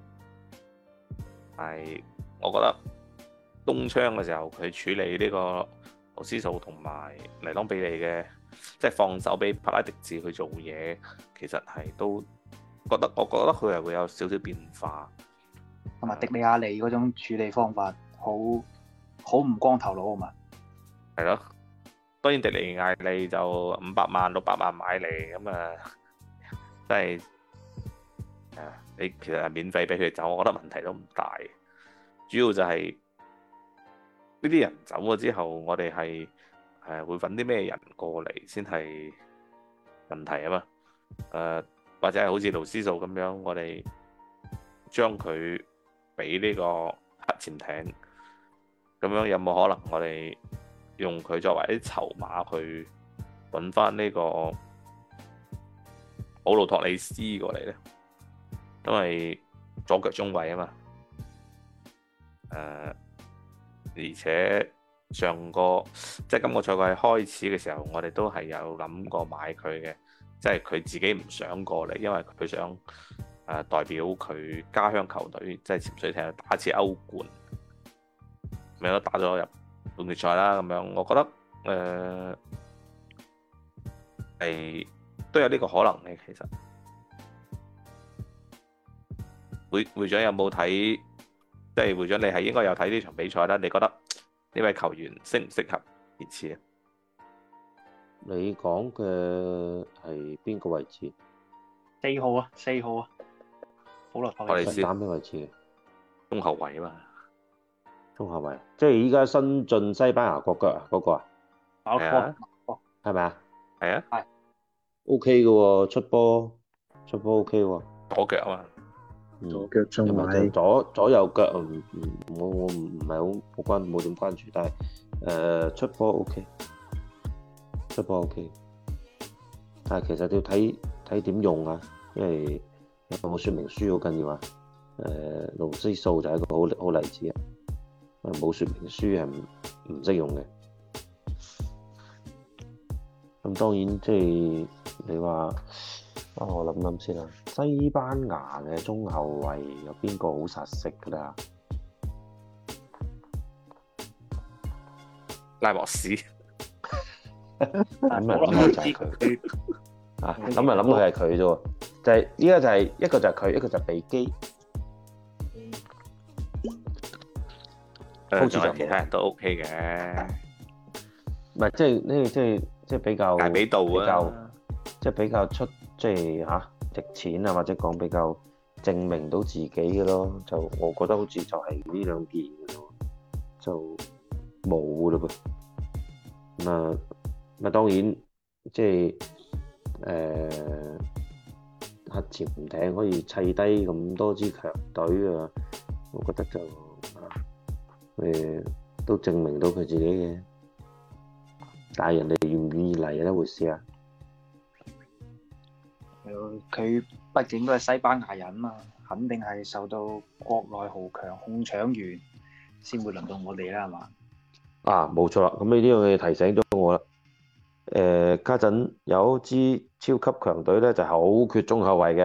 係，我覺得冬窗嘅時候佢處理呢個勞斯數同埋尼當比利嘅，即係放手俾帕拉迪治去做嘢，其實係都覺得，我覺得佢係會有少少變化。 同埋迪利亞利嗰種處理方法，好好唔光頭佬啊嘛。 係咯，當然迪利亞利就五百萬六百萬買嚟，咁啊，真係誒，你其實係免費俾佢走，我覺得問題都唔大。主要就係呢啲人走咗之後，我哋係誒會揾啲咩人過嚟先係問題啊嘛。誒、呃、或者係好似盧斯數咁樣，我哋將佢俾呢個核潛艇，咁樣有冇可能我哋用佢作為啲籌碼去揾翻呢個普魯托里斯過嚟呢？因為左腳中衛啊嘛。誒、呃，而且上個即係今個賽季開始嘅時候，我哋都係有諗過買佢嘅，即係佢自己唔想過嚟，因為佢想誒、呃、代表佢家鄉球隊，即係潛水艇打一次歐冠，咪都打咗入半決賽啦。咁樣我覺得誒係、呃、都有呢個可能嘅。其實會會長有冇睇？即係會長，你係應該有睇呢場比賽啦。你覺得呢位球員適唔適合熱刺啊？ 你講嘅係邊個位置？ 四號啊，四號啊，普羅托里斯打咩位置嘅？ 中後衞啊嘛， 中後衞，即係依家新進西班牙國腳啊，嗰、那個啊， 係啊， 係咪啊？ 係啊， 係 OK 嘅喎，出波出波 OK 喎， 左腳啊嘛。 左腳中又唔係位， 左左右腳唔唔我我唔唔係好好關冇點關注，但係誒、呃、出波 OK， 出波 OK， 但係其實要睇睇點用啊，因為有冇說明書好緊要啊。誒盧斯數就係一個好好例子啊，冇說明書係唔唔識用嘅。咁當然即係你話。啊、我諗諗先啦，西班牙嘅中後衞有邊個好實食㗎啦？ 拉莫斯， 咁啊諗佢就係佢啊，咁啊諗佢係佢啫喎，就係依家就係、是、一個就係佢，一個就係比基。 誒，仲有其他人都 OK 嘅， 唔係即係呢？即係即係比較大比度啊， 即係比較出。即係嚇、啊、值錢啊，或者講比較證明到自己嘅咯，就我覺得好似就係呢兩件嘅咯，就冇嘞噃。咁啊，咁啊當然即係誒核潛艇可以砌低咁多支強隊啊，我覺得就啊誒都證明到佢自己嘅，但係人哋願唔願意嚟係一回事啊。 佢畢竟都係西班牙人嘛，肯定係受到國內豪強控搶完，先會輪到我哋啦，係嘛？ 啊，冇錯啦，咁呢啲嘢提醒咗我啦。誒、呃，家陣有支超級強隊咧，就好缺中後衞嘅，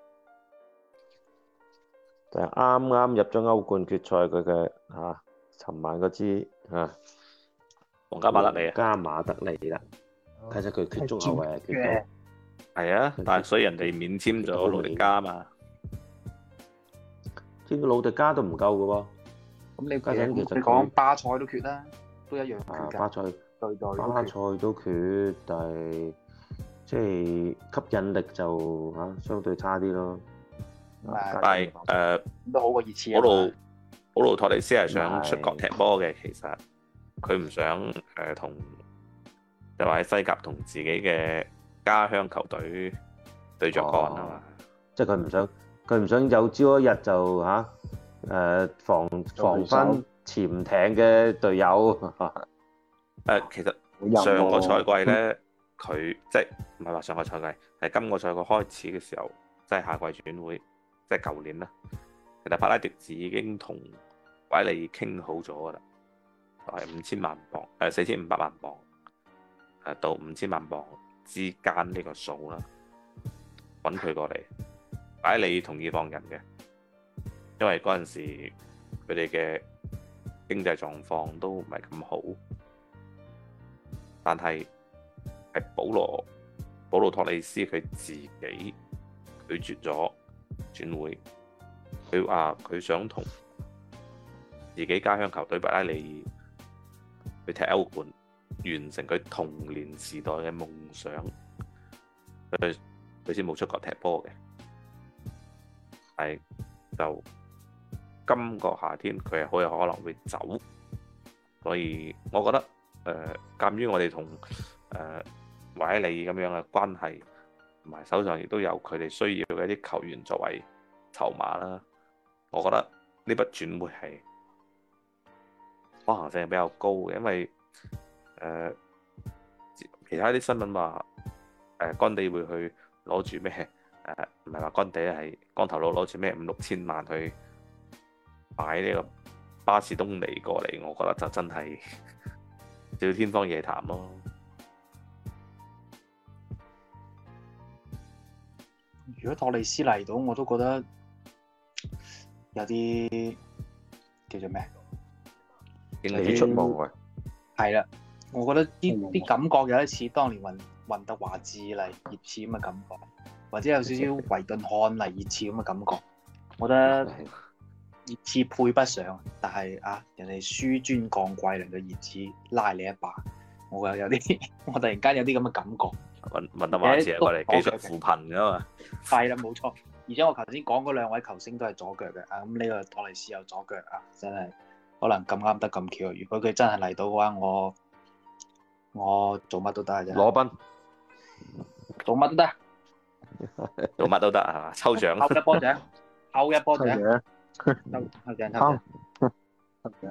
就係啱啱入咗歐冠決賽佢嘅嚇，尋晚嗰支嚇， 皇家馬德里啊， 加馬德里啦，其實佢缺中後衞係缺到。 係啊，但係所以人哋免簽咗魯迪加嘛， 簽魯迪加都唔夠嘅喎。 咁你家陣其實你講巴塞都缺啦，都一樣缺啊， 㗎。 巴塞對對巴塞都缺，但係即係吸引力就嚇、啊、相對差啲咯。 但係誒都好過熱刺普魯啊嘛。 普魯托利斯係想出國踢波嘅，其實佢唔想誒同就話喺西甲同自己嘅家鄉球隊對着幹啊嘛， 哦，即係佢唔想，佢唔想有朝一日就嚇誒、啊、防防翻潛艇嘅隊友。誒、 呃，其實上個賽季咧，佢、嗯、即係唔係話上個賽季，係今個賽季開始嘅時候，即係夏季轉會，即係舊年啦。其實帕拉迪治已經同韋利傾好咗噶啦，係五千萬磅，誒四千五百萬磅，誒到五千萬磅之間呢個數啦，揾佢過嚟，擺你同意放人嘅，因為嗰陣時佢哋嘅經濟狀況都唔係咁好，但係係保羅保羅托利斯佢自己拒絕咗轉會，佢話佢想同自己家鄉球隊白拉利去踢歐冠，完成佢童年時代嘅夢想，佢佢先冇出國踢波嘅。 但係就今個夏天佢係好有可能會走，所以我覺得誒，鑑於我哋同誒維埃利咁樣嘅關係，同埋手上亦都有佢哋需要嘅一啲球員作為籌碼啦，我覺得呢筆轉會係可行性係比較高嘅，因為誒、呃、其他啲新聞話誒乾地會去攞住咩誒，唔係話乾地係光頭佬攞住咩五六千萬去買呢個巴士東尼過嚟，我覺得就真係少天方夜譚咯。 如果托利斯嚟到，我都覺得有啲叫做咩？ 有啲出毛啊！ 係啦，我覺得啲啲感覺有啲似當年雲雲德華智嚟熱刺咁嘅感覺，或者有少少維頓漢嚟熱刺咁嘅感覺。我覺得熱刺配不上，但係啊，人哋紆尊降貴嚟到熱刺拉你一把，我又有啲，我突然間有啲咁嘅感覺。 雲雲德華智係過嚟技術扶貧噶嘛？ 係啦，冇錯。而且我頭先講嗰兩位球星都係左腳嘅，啊咁呢個托利斯有左腳啊，真係可能咁啱得咁巧。如果佢真係嚟到嘅話，我我做乜都得嘅啫。 羅賓做乜都得， 做乜都得係嘛？抽獎， 抽一波獎，抽一波獎， 嘅， 抽抽獎抽獎。 得嘅。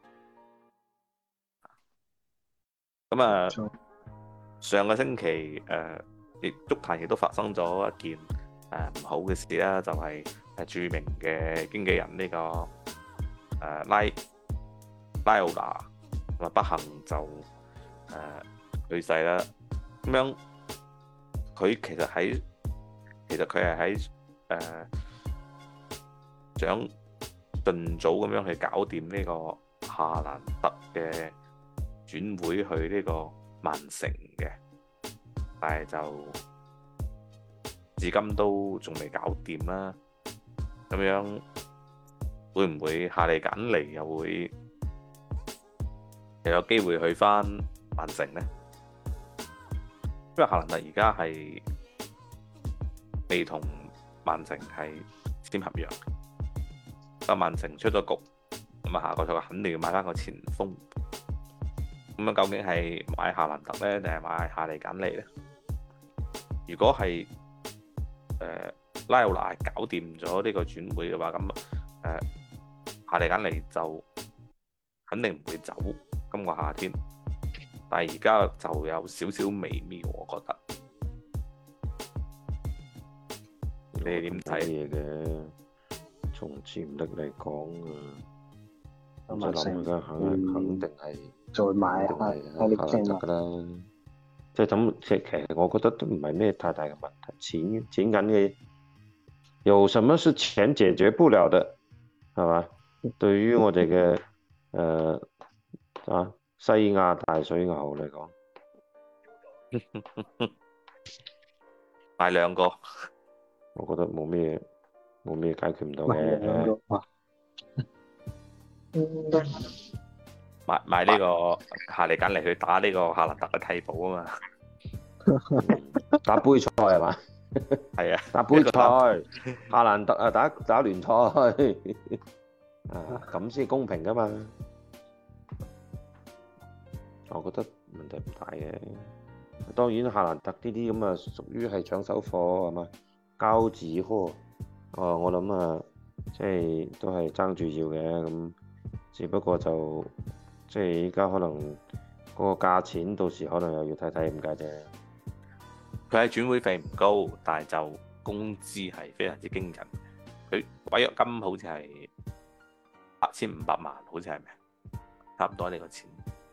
咁啊，上個星期誒，亦足壇亦都發生咗一件誒唔好嘅事啦，就係誒著名嘅經紀人呢個誒拉拉奧拿咁啊，不幸就誒去世啦。咁樣佢其實喺其實佢係喺誒想盡早咁樣去搞掂呢個夏蘭特嘅轉會去呢個曼城嘅，但係就至今都仲未搞掂啦。咁樣會唔會夏利簡尼又會又有機會去翻曼城呢？因為夏蘭特而家係未同曼城係簽合約，咁曼城出咗局，咁啊下個賽季肯定要買翻個前鋒。咁樣究竟係買夏蘭特咧，定係買夏利簡尼咧？如果係誒、呃、拉奧拿搞掂咗呢個轉會嘅話，咁誒、呃、夏利簡尼就肯定唔會走今個夏天。但係而家就有少少微妙，我覺得。你哋點睇嘢嘅？從潛力嚟講啊， 咁就諗而家肯肯定係。 再買下夏蘭特噶啦，即係咁，其實我覺得都唔係咩太大嘅問題，錢錢緊嘅，有什麼是錢解決不了的，係嘛？對於我哋嘅誒啊西亞大水牛嚟講， 買兩個， 我覺得冇咩冇咩解決唔到嘅。 買買呢個夏利簡尼去打呢個夏蘭特嘅替補啊嘛， 打杯賽係嘛？ 係啊， 打杯賽，夏蘭特啊打打聯賽，啊咁先公平噶嘛？我覺得問題唔大嘅。當然夏蘭特呢啲咁啊，屬於係搶手貨係嘛？膠紙貨，哦我諗啊，即係都係爭住要嘅咁，只不過就。即係依家可能嗰個價錢，到時可能又要睇睇點解啫。 佢係轉會費唔高，但係就工資係非常之驚人。佢違約金好似係八千五百萬，好似係咪？差唔多呢個錢。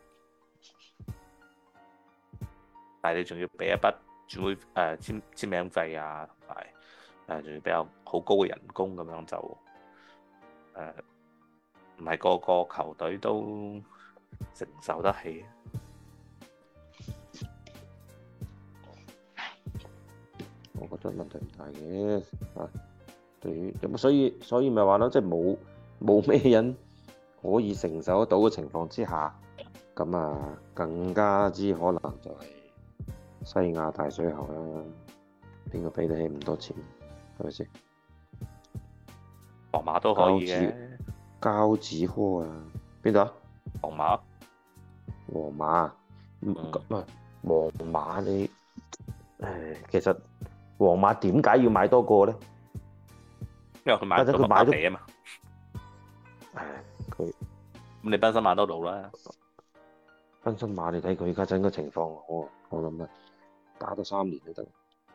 但係你仲要俾一筆轉會誒、呃、簽簽名費啊，同埋誒仲要比較好高嘅人工咁樣就誒，唔、呃、係個個球隊都承受得起。 我覺得問題唔大嘅嚇，對於咁所以所以咪話咯，即係冇冇咩人可以承受得到嘅情況之下，咁啊更加之可能就係西亞大水喉啦，邊個俾得起咁多錢係咪先？ 皇馬都可以嘅。 交子科啊，邊度啊？ 皇馬， 皇馬，唔係皇馬你誒，其實皇馬點解要買多個咧？ 因為佢買咗麥巴比啊嘛。 誒，佢咁你賓森馬都到啦。 賓森馬你睇佢而家整個情況，我我諗啊，打多三年都得。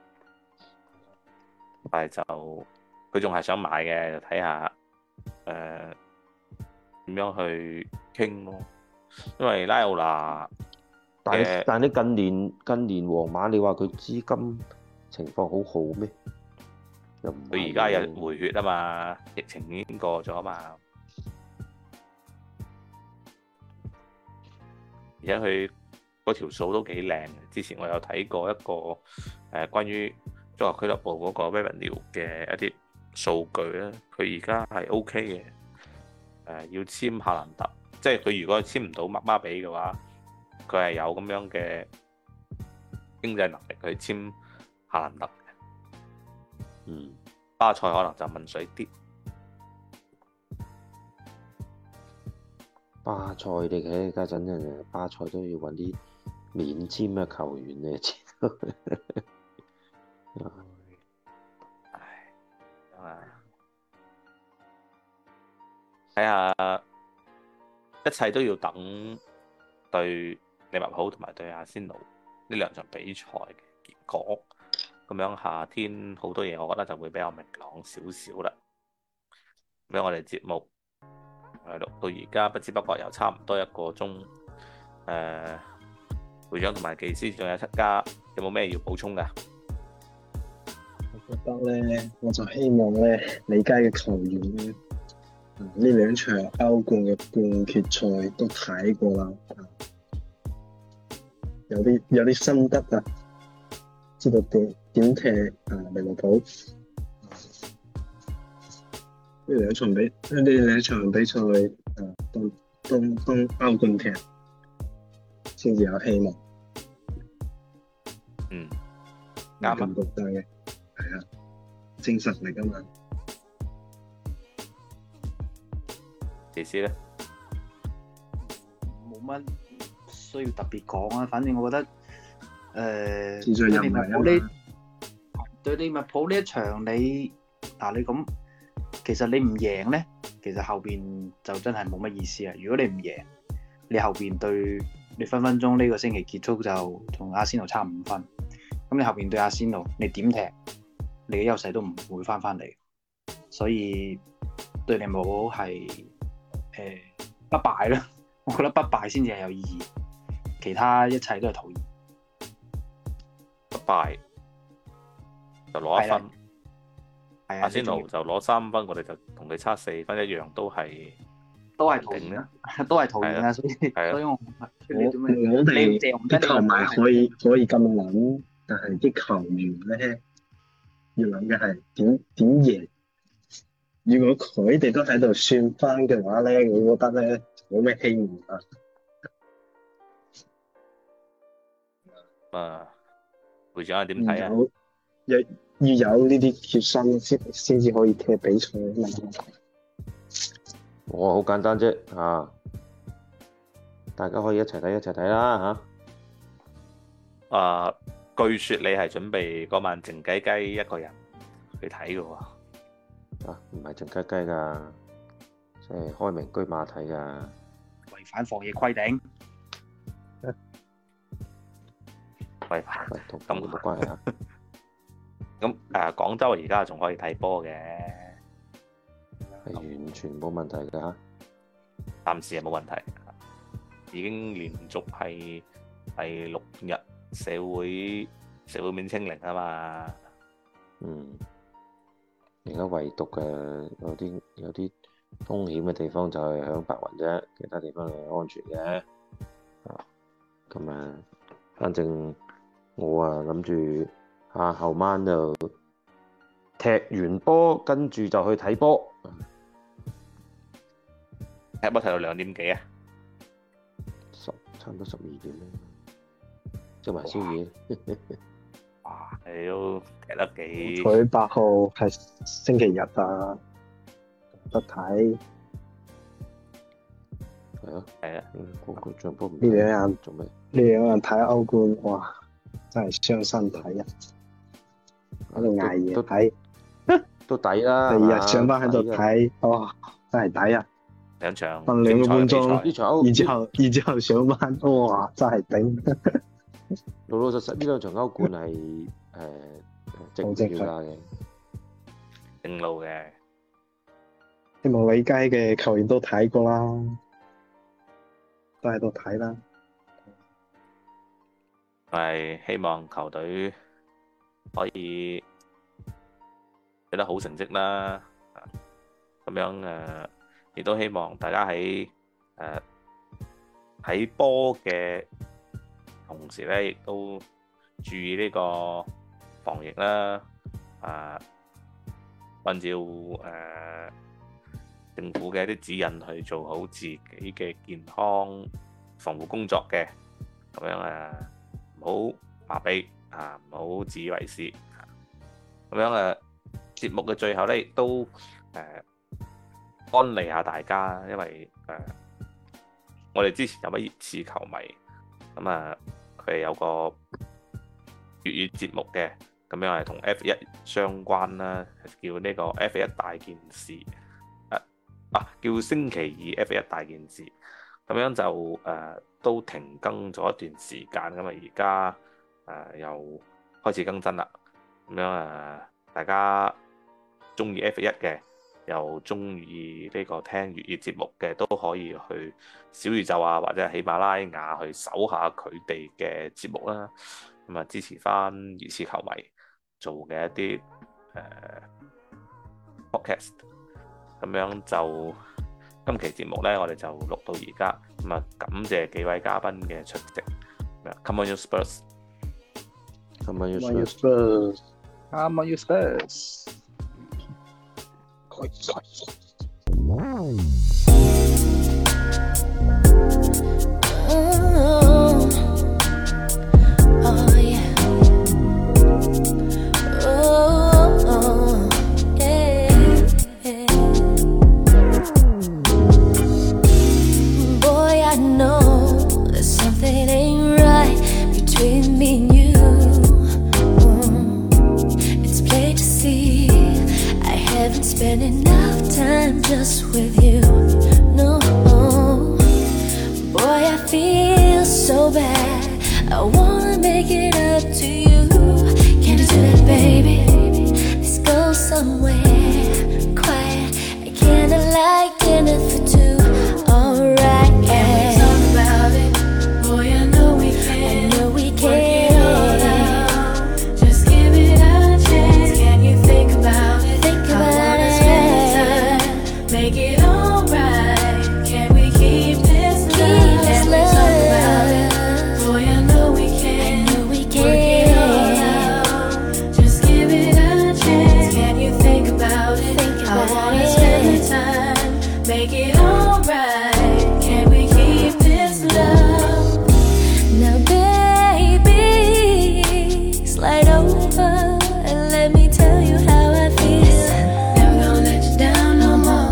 但係就佢仲係想買嘅，就睇下誒點樣去傾咯。因為拉奧拿， 但係但係你近年近年皇馬，你話佢資金情況好好咩？又唔係。 佢而家有回血啊嘛，疫情已經過咗啊嘛，而且佢嗰條數都幾靚。之前我有睇過一個誒、呃、關於足球俱樂部嗰個 revenue 嘅一啲數據咧，佢而家係 OK 嘅。誒、呃、要簽夏蘭特，即係佢如果簽唔到麥巴比嘅話，佢係有咁樣嘅經濟能力去簽夏蘭特嘅。 嗯， 巴塞可能就問水啲。 巴塞你睇家陣啊，巴塞都要揾啲免簽嘅球員嚟簽。 唉，啊，睇下一切都要等對利物浦同埋對阿仙奴呢兩場比賽嘅結果，咁樣夏天好多嘢，我覺得就會比較明朗少少啦。咁樣我哋節目係錄到而家，不知不覺又差唔多一個鐘。誒、呃，會長同埋技師仲有七家，有冇咩要補充㗎？ 我覺得咧，我就希望咧，李佳嘅球員咧，呢兩場歐冠嘅半決賽都睇過啦，有啲有啲心得啊，知道點點踢啊利物浦。呢兩場比呢兩場比賽啊，都都都歐冠踢先至有希望。 嗯，啱啊， 咁覺得嘅，係啊，精神嚟噶嘛。 技師咧， 冇乜需要特別講啊，反正我覺得誒， 自在人迷啊嘛。 對利物浦呢一場你嗱你咁，其實你唔贏咧，其實後邊就真係冇乜意思啊。如果你唔贏，你後邊對你分分鐘呢個星期結束就同阿仙奴差五分，咁你後邊對阿仙奴，你點踢，你嘅優勢都唔會翻翻嚟，所以對利物浦係誒不敗啦。我覺得不敗先至係有意義，其他一切都係徒然。 不敗就攞一分，阿仙奴就攞三分，我哋就同佢差四分一樣，都係都係徒然啦，都係徒然啊！所以所以我我我哋啲球迷可以可以咁諗，但係啲球員咧要諗嘅係點點贏。如果佢哋都喺度算翻嘅話咧，我覺得咧冇咩希望啊。 啊，會長係點睇啊？ 要要有呢啲決心先先至可以踢比賽啊嘛。 我好簡單啫啊！大家可以一齊睇一齊睇啦嚇。啊，據說你係準備嗰晚靜雞雞一個人去睇嘅喎。 啊，唔係靜雞雞㗎，即係開明居馬睇㗎。 違反防疫規定。 違反同咁冇關係啊。 咁誒，廣州而家仲可以睇波嘅， 係完全冇問題㗎嚇。 暫時係冇問題，已經連續係第六日社會社會面清零啊嘛。 嗯。而家唯獨嘅有啲有啲風險嘅地方就係響白雲啫，其他地方係安全嘅。啊，咁啊，反正我啊諗住下後晚就踢完波，跟住就去睇波。 踢波踢到兩點幾啊？ 十差唔多十二點啦，食埋宵夜。 哇！你都踢得幾？ 佢八號係星期日啊！ 得睇。 係啊， 係啊， 嗯，個個場波唔呢兩日做咩？ 呢兩日睇歐冠，哇，真係傷身體啊！喺度捱夜睇， 都抵啦。 第二日上班喺度抵㗎睇，哇，真係抵啊！ 兩場瞓兩個半鐘， 呢場歐， 然之後，然之後上班，哇，真係頂！ 老老實實呢兩場歐冠係誒值唔票價嘅， 正路嘅。 希望李佳嘅球員都睇過啦，都喺度睇啦。 係希望球隊可以取得好成績啦。咁樣誒，亦都希望大家喺誒睇波嘅同時咧，亦都注意呢個防疫啦。誒，按照誒政府嘅一啲指引去做好自己嘅健康防護工作嘅，咁樣誒唔好麻痹啊，唔好自以為是。咁樣誒節目嘅最後咧，亦都誒安利下大家，因為誒我哋之前有位熱刺球迷，咁啊佢係有個粵語節目嘅，咁樣係同 F 一相關啦，叫呢個 F 一大件事。啊，叫星期二 F 一大件事，咁樣就誒、呃、都停更咗一段時間，咁啊而家誒又開始更新啦，咁樣誒、呃、大家中意 F 一嘅，又中意呢個聽粵語節目嘅，都可以去小宇宙啊或者係喜馬拉雅去搜下佢哋嘅節目啦，咁啊支持翻熱刺球迷做嘅一啲誒、呃、podcast。咁樣就今期節目咧，我哋就錄到而家。咁啊，感謝幾位嘉賓嘅出席。Come on you Spurs！Come on you Spurs！Come on you Spurs！ Spend enough time just with you. No, boy, I feel so bad. I wanna make it up to you. Can you do that, baby? Let's go somewhere quiet. I kinda like dinner for two. Alright, can we talk about it? Boy, I know we can. I know we can. Work it all out. Just give it a chance. Can you think about it? Think about it. Make it alright. Can we keep this love? Keep this love. Talk about it. Boy, I know we can. I know we can. Work it all out. Just give it a chance. Can you think about it? Think about I wanna it. Spend the time. Make it alright. Can we keep this love? Now, baby, slide over and let me tell you how I feel. Never gonna let you down no more.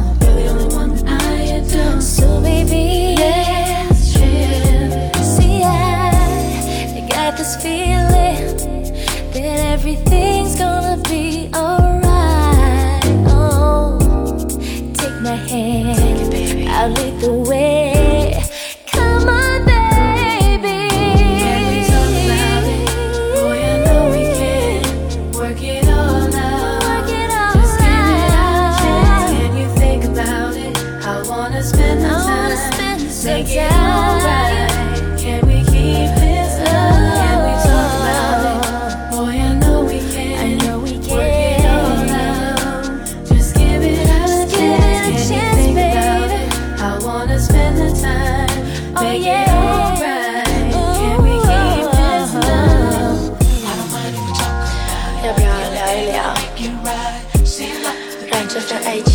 So baby, let's chill. See, I got this feeling that everything's gonna be alright. Oh, take my hand, take it, baby. I'll lead the way. Come on, baby. Can we talk about it? Boy, I know we can. Work it all out. Work it all Just give it a chance. Can you think about it? I wanna spend the time. Make it alright. Can we keep this love? Can we talk about it? Boy, I know we can. I know we can. Work it all out. Just give it a chance. Can you think about it? I wanna spend the time. Make it alright. Can we keep this love? 要不要聊一聊？让这份爱情